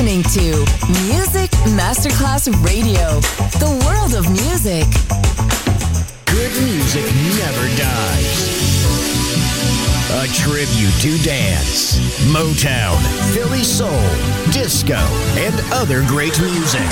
listening to Music Masterclass Radio, the world of music. Good music never dies. A tribute to dance, Motown, Philly soul, disco, and other great music.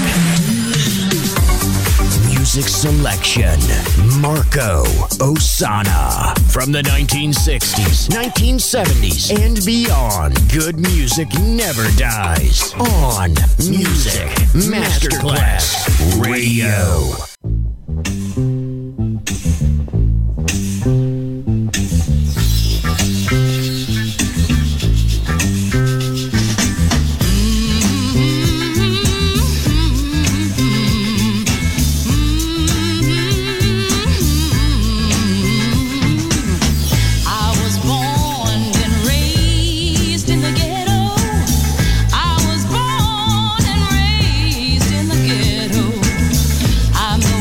Music selection, Marco Ossanna. From the 1960s, 1970s, and beyond, good music never dies. On Music Masterclass Radio. I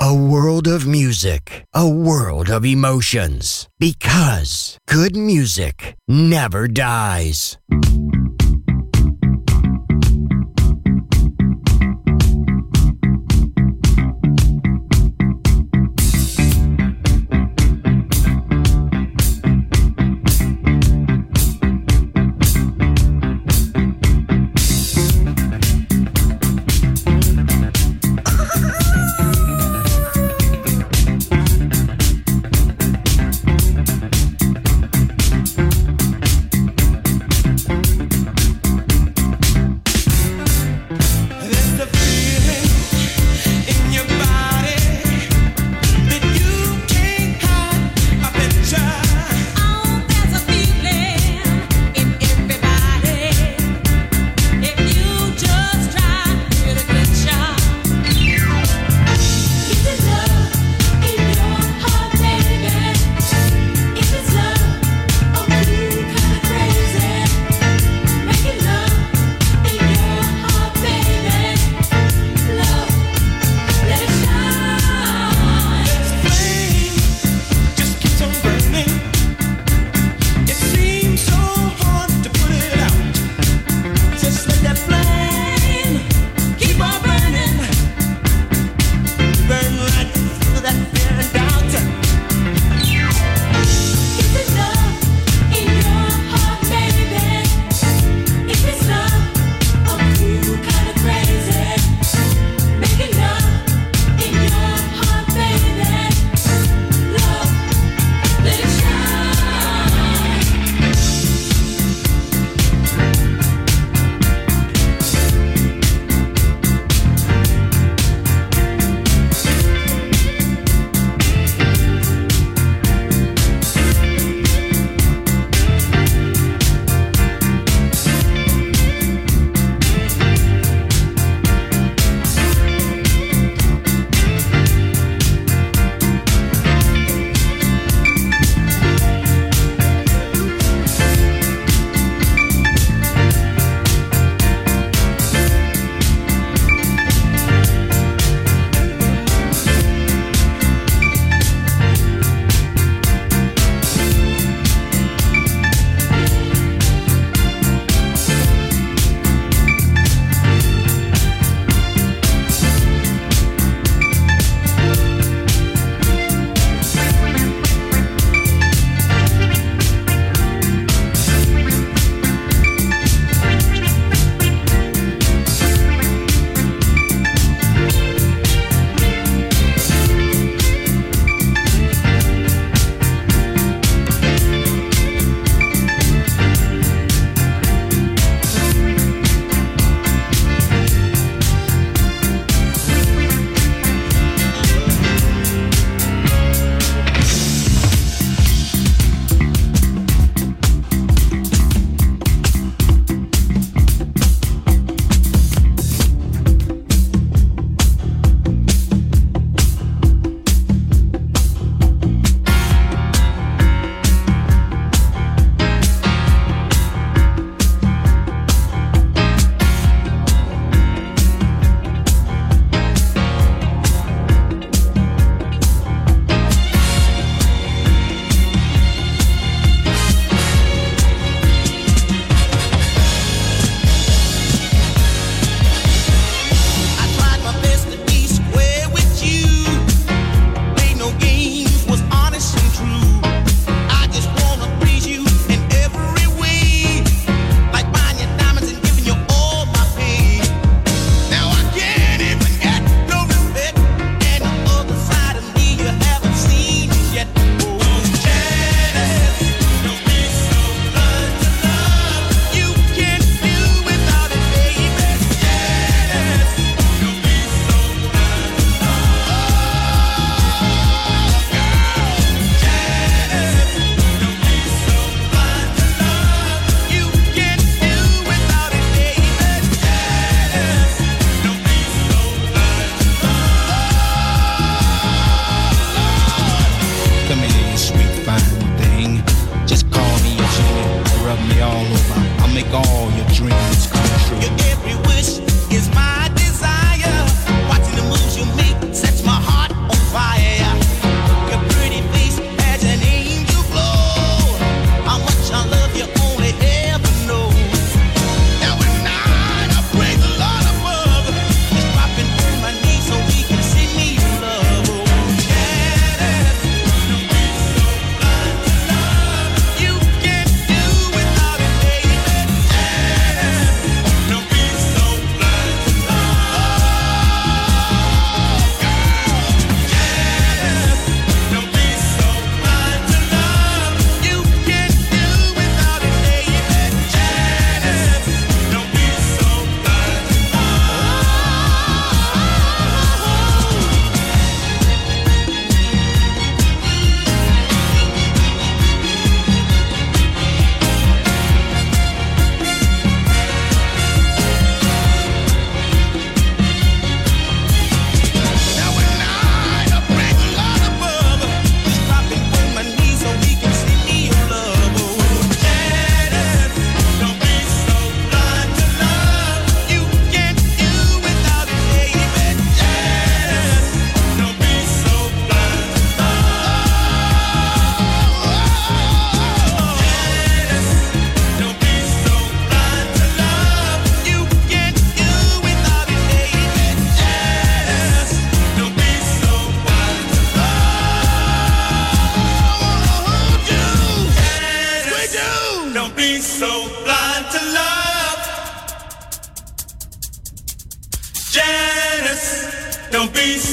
A world of music, a world of emotions. Because good music never dies.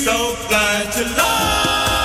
so blind to love.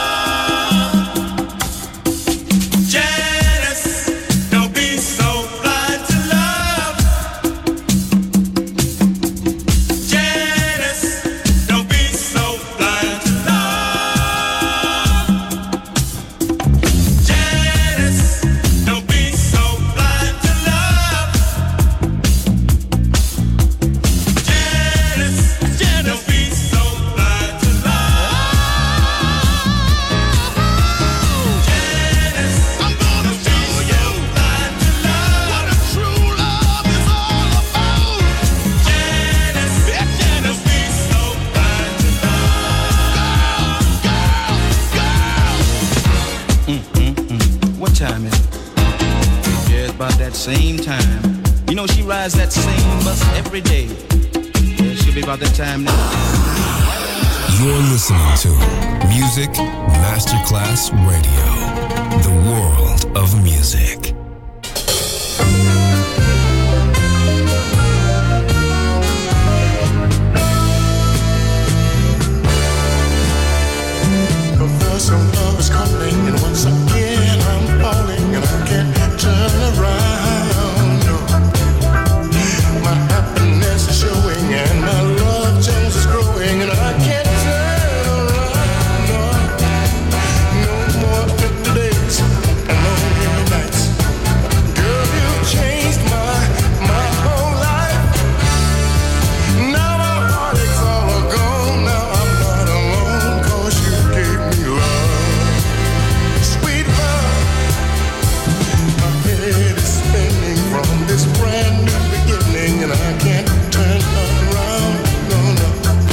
Same time. You know she rides that same bus every day. Yeah, she'll be about that time now. You're listening to Music Masterclass Radio. The world of music. Some love is calling, and once again I'm falling, and I can't turn around. No. My happiness is showing, and my love change is growing, and I can't turn around. No, no more empty days and lonely nights. Girl, you changed my whole life. Now my heartaches all are gone. Now I'm not alone, 'cause you gave me love. Sweet love, my head is spinning from this brand new beginning, and I can't turn around, no, no.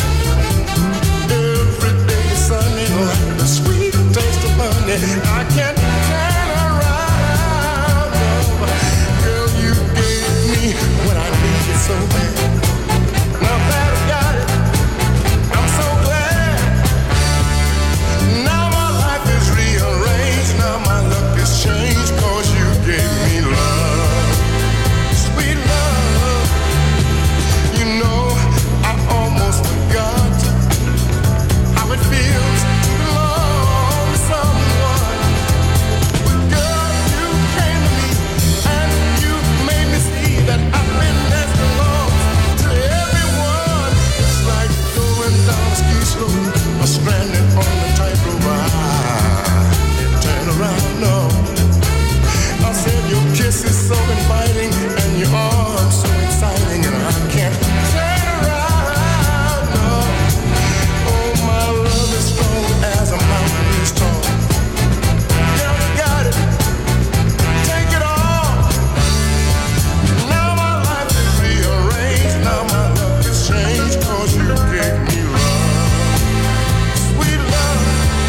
Every day is sunny like the sweet taste of honey. I can't turn around, no. Girl, you gave me what I needed so bad. Now that I got it, I'm so glad. Now my life is rearranged, now my luck has changed, 'cause you gave me love, sweet love. You know, I almost forgot how it feels to belong to someone. But girl, you came to me and you made me see that happiness belongs to everyone. It's like going down a ski slope or stranded on a tightrope. I can't turn around, no. I said your kiss is so inviting and your arms so exciting, and I can't turn around, no. Oh, my love is strong as a mountain is tall. Girl, you got it, take it all. Now my life is rearranged, now my luck has changed, 'cause you gave me love, sweet love.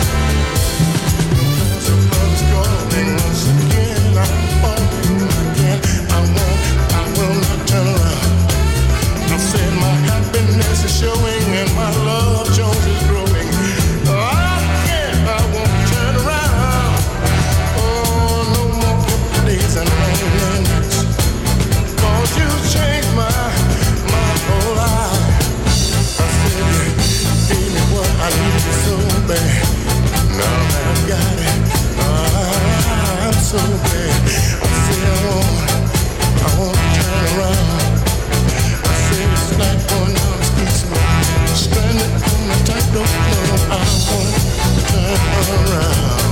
Some love is calling once again, I'm falling again. I will not turn around. I said my happiness is showing and my love Jones is growing. I won't turn around. Oh, no more empty days and lonely nights. 'Cause you changed my whole life. I said you gave me what I needed so bad. Now that I've got it, I'm so glad. I said I won't turn around. I said it's like going down the street slope, stranded on the tightrope. No, I won't turn around.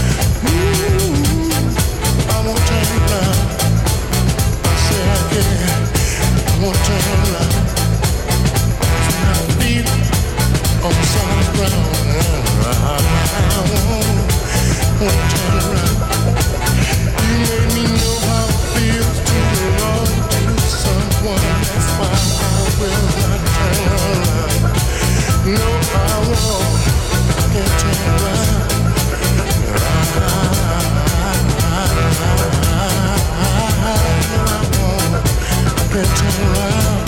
Ooh, I won't turn around. I said again, I won't turn around. My feet on solid ground. I won't turn around. You made me know how it feels to belong to someone. That's why I will not turn around. No, I won't. I can't turn around. I can't turn around.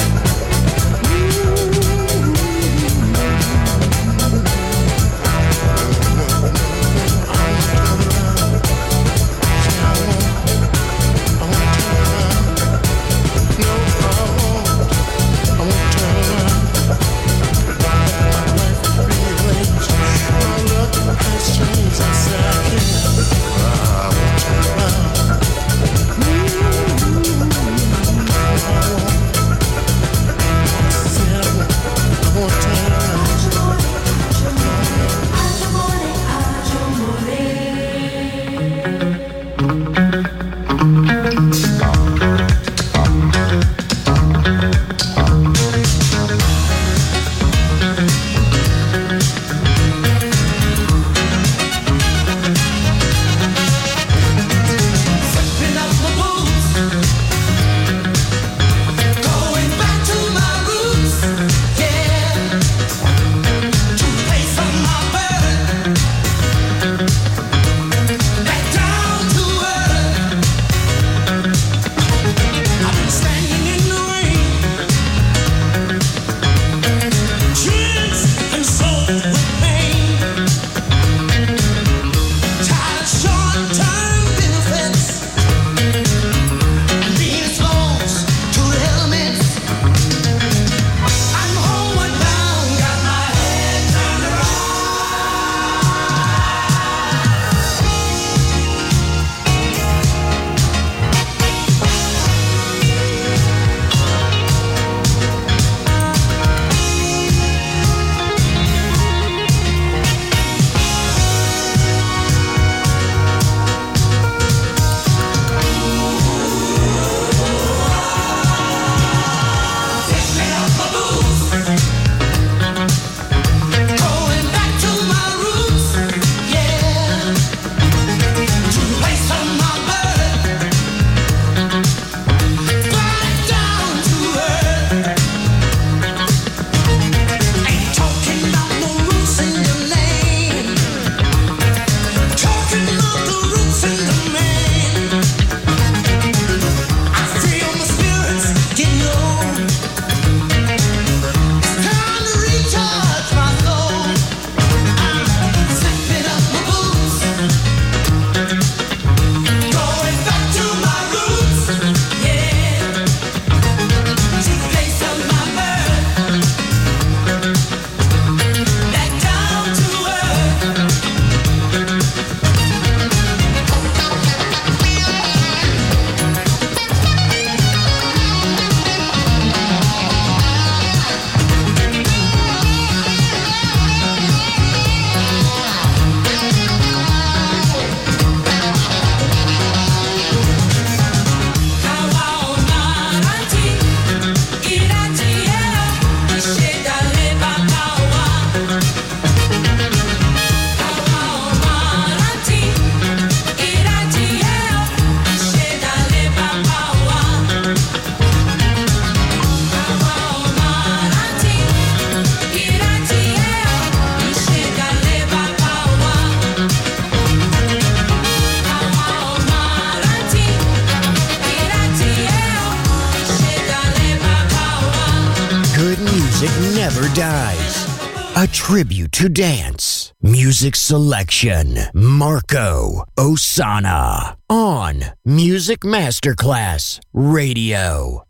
never dies. A tribute to dance. Music selection. Marco Ossanna. On Music Masterclass Radio.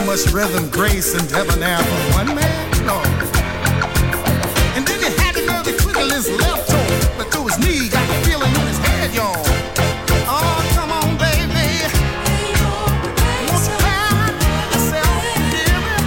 much rhythm, grace, and debonair for one man? No. And then he had to know the twiddle his left toe, but through his knee, got the feeling in his head, y'all. Oh, come on, baby. Won't you find yourself giving?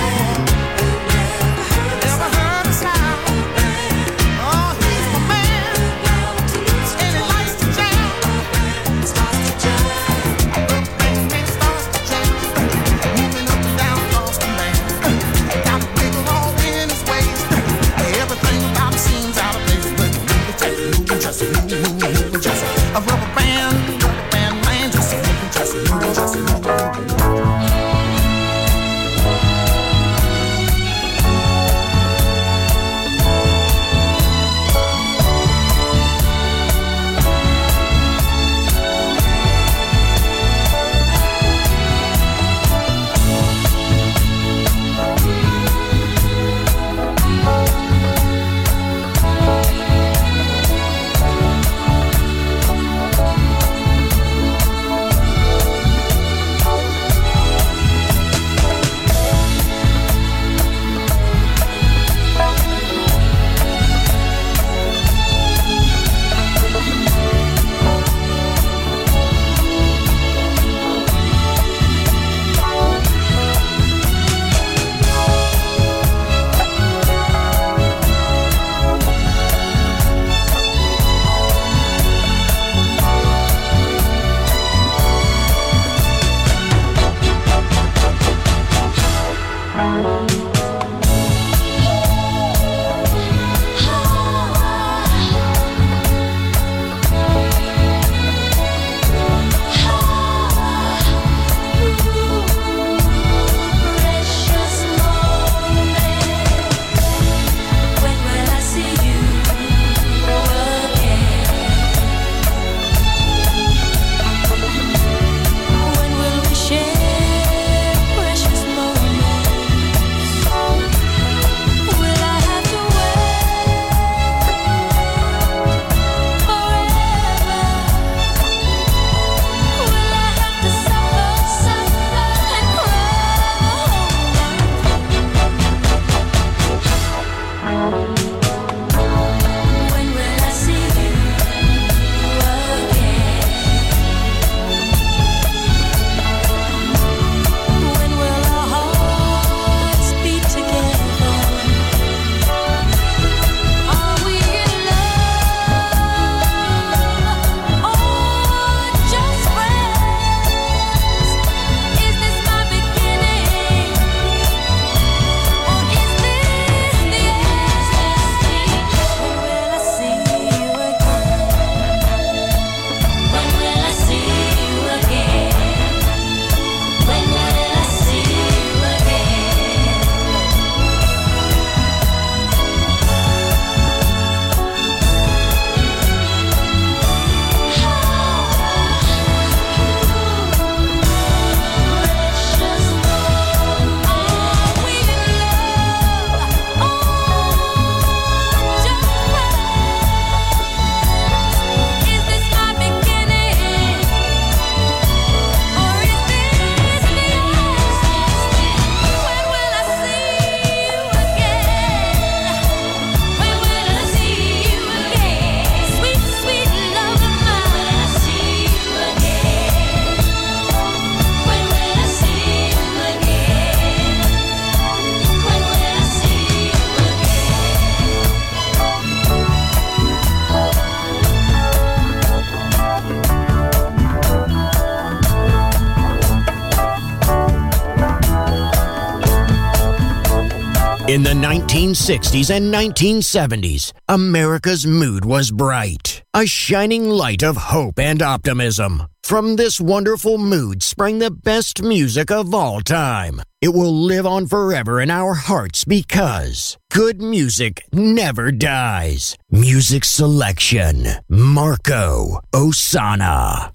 Never heard a sound. Oh, he's my man, and he likes to jam. Starts to jam. Starts to jam. Moving up and down across the land. Got a wiggle all in his waist. Everything about him seems out of place, but moving, just a rubber band man, just moving, just moving. In the 1960s and 1970s, America's mood was bright, a shining light of hope and optimism. From this wonderful mood sprang the best music of all time. It will live on forever in our hearts because good music never dies. Music selection, Marco Ossanna.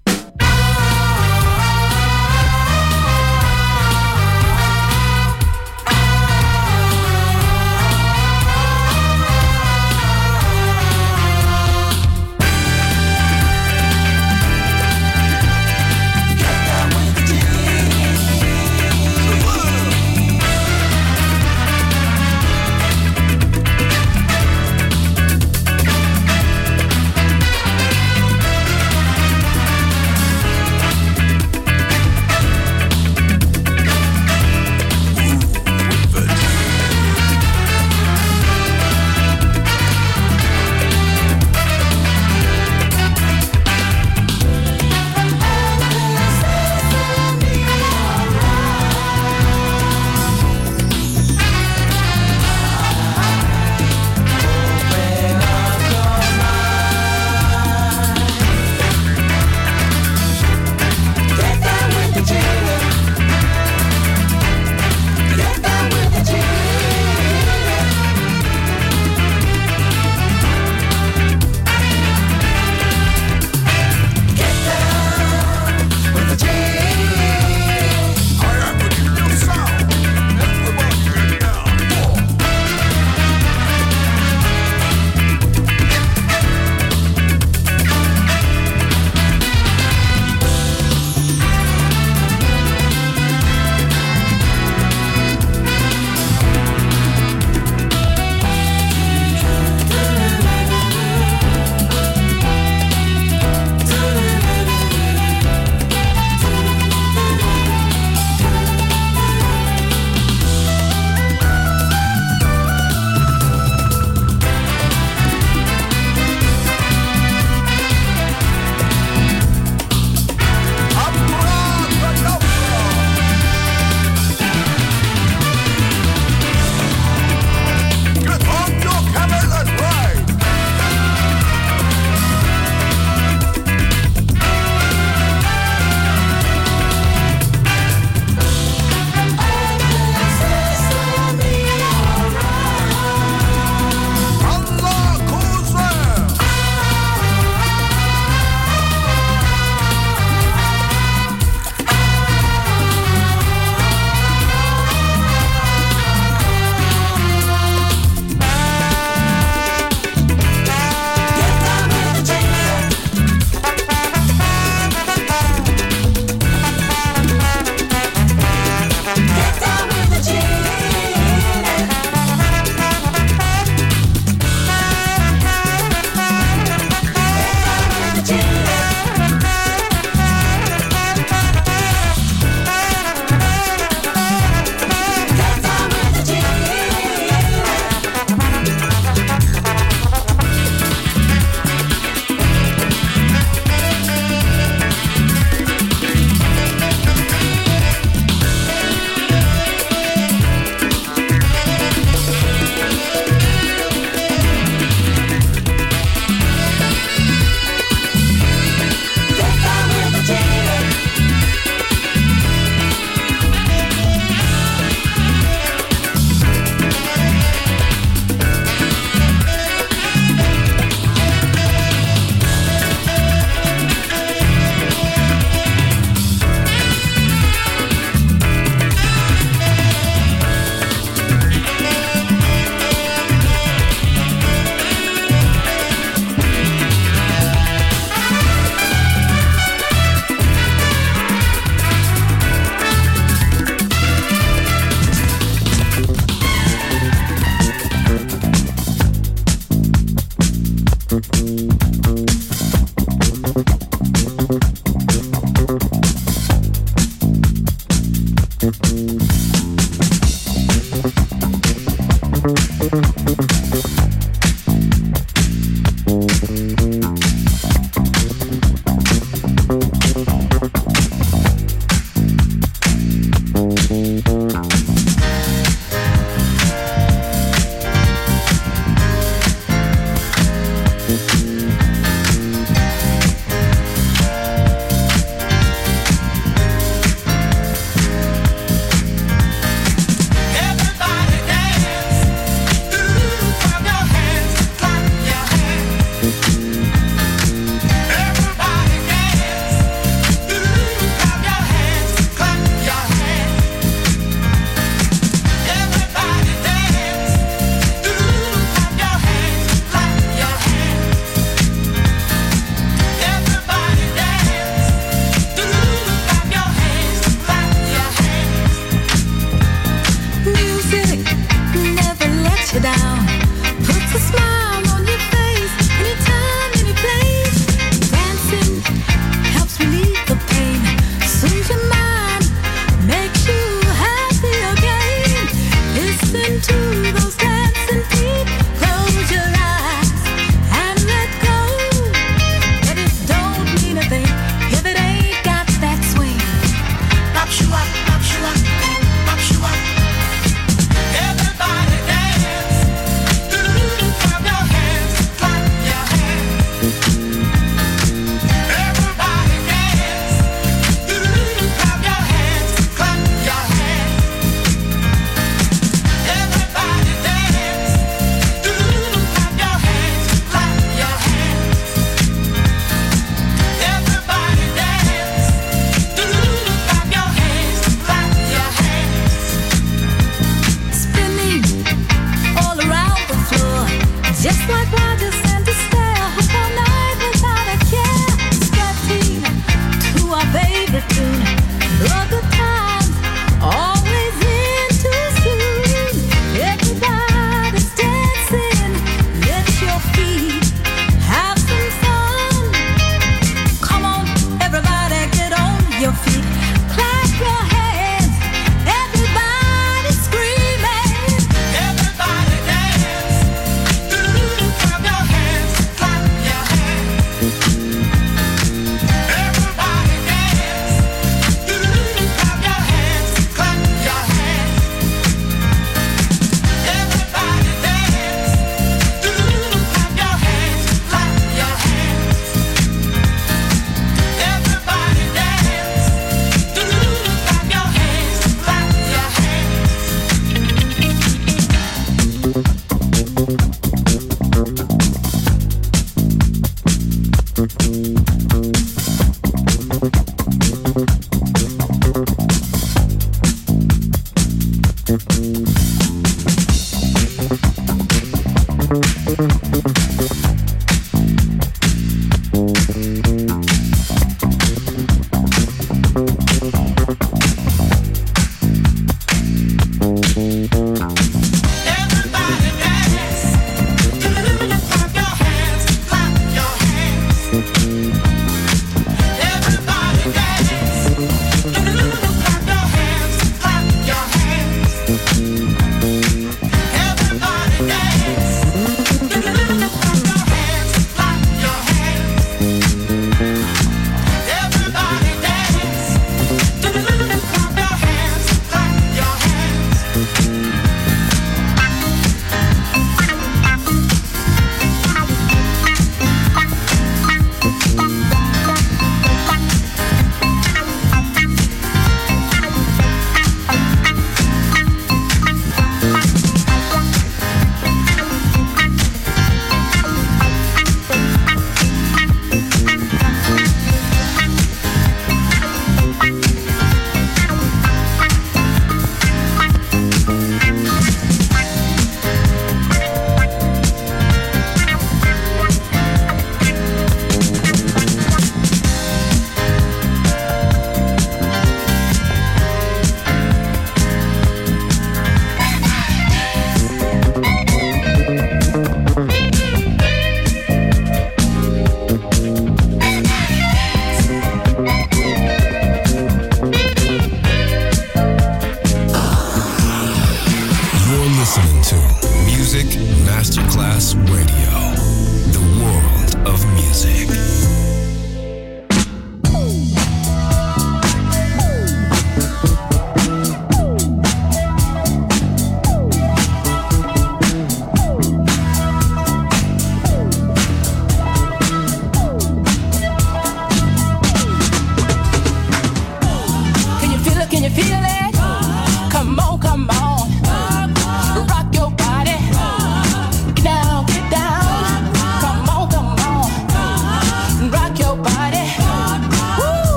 Everybody dance. Clap your hands, clap your hands.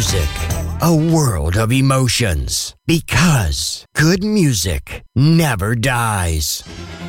music, a world of emotions. Because good music never dies.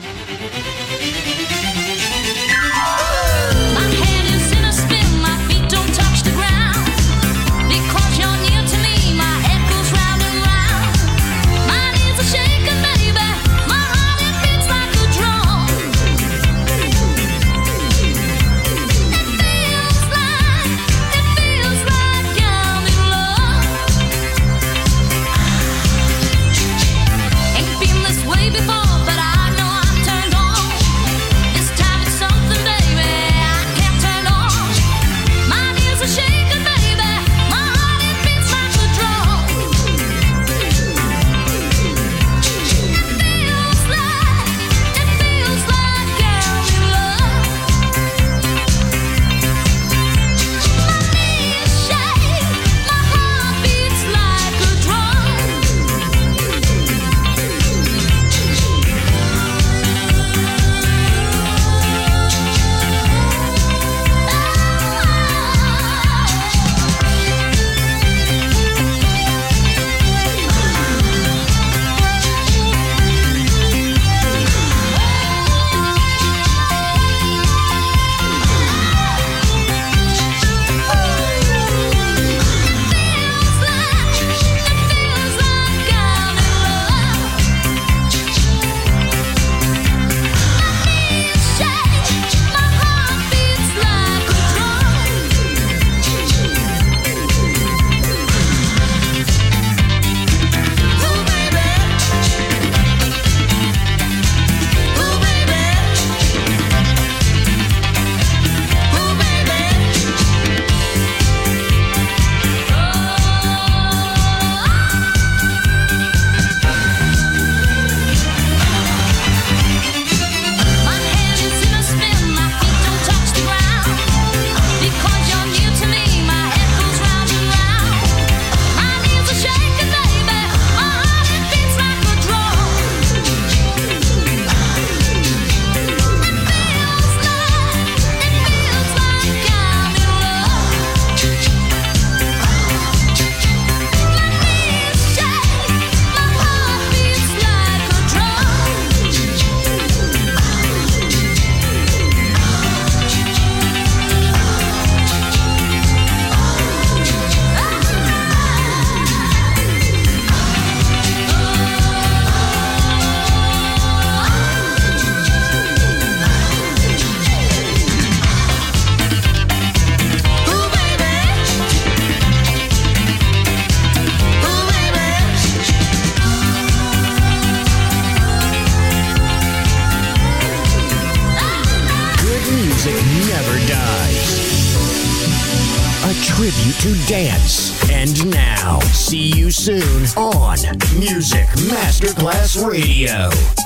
Tribute to dance. And now, see you soon on Music Masterclass Radio.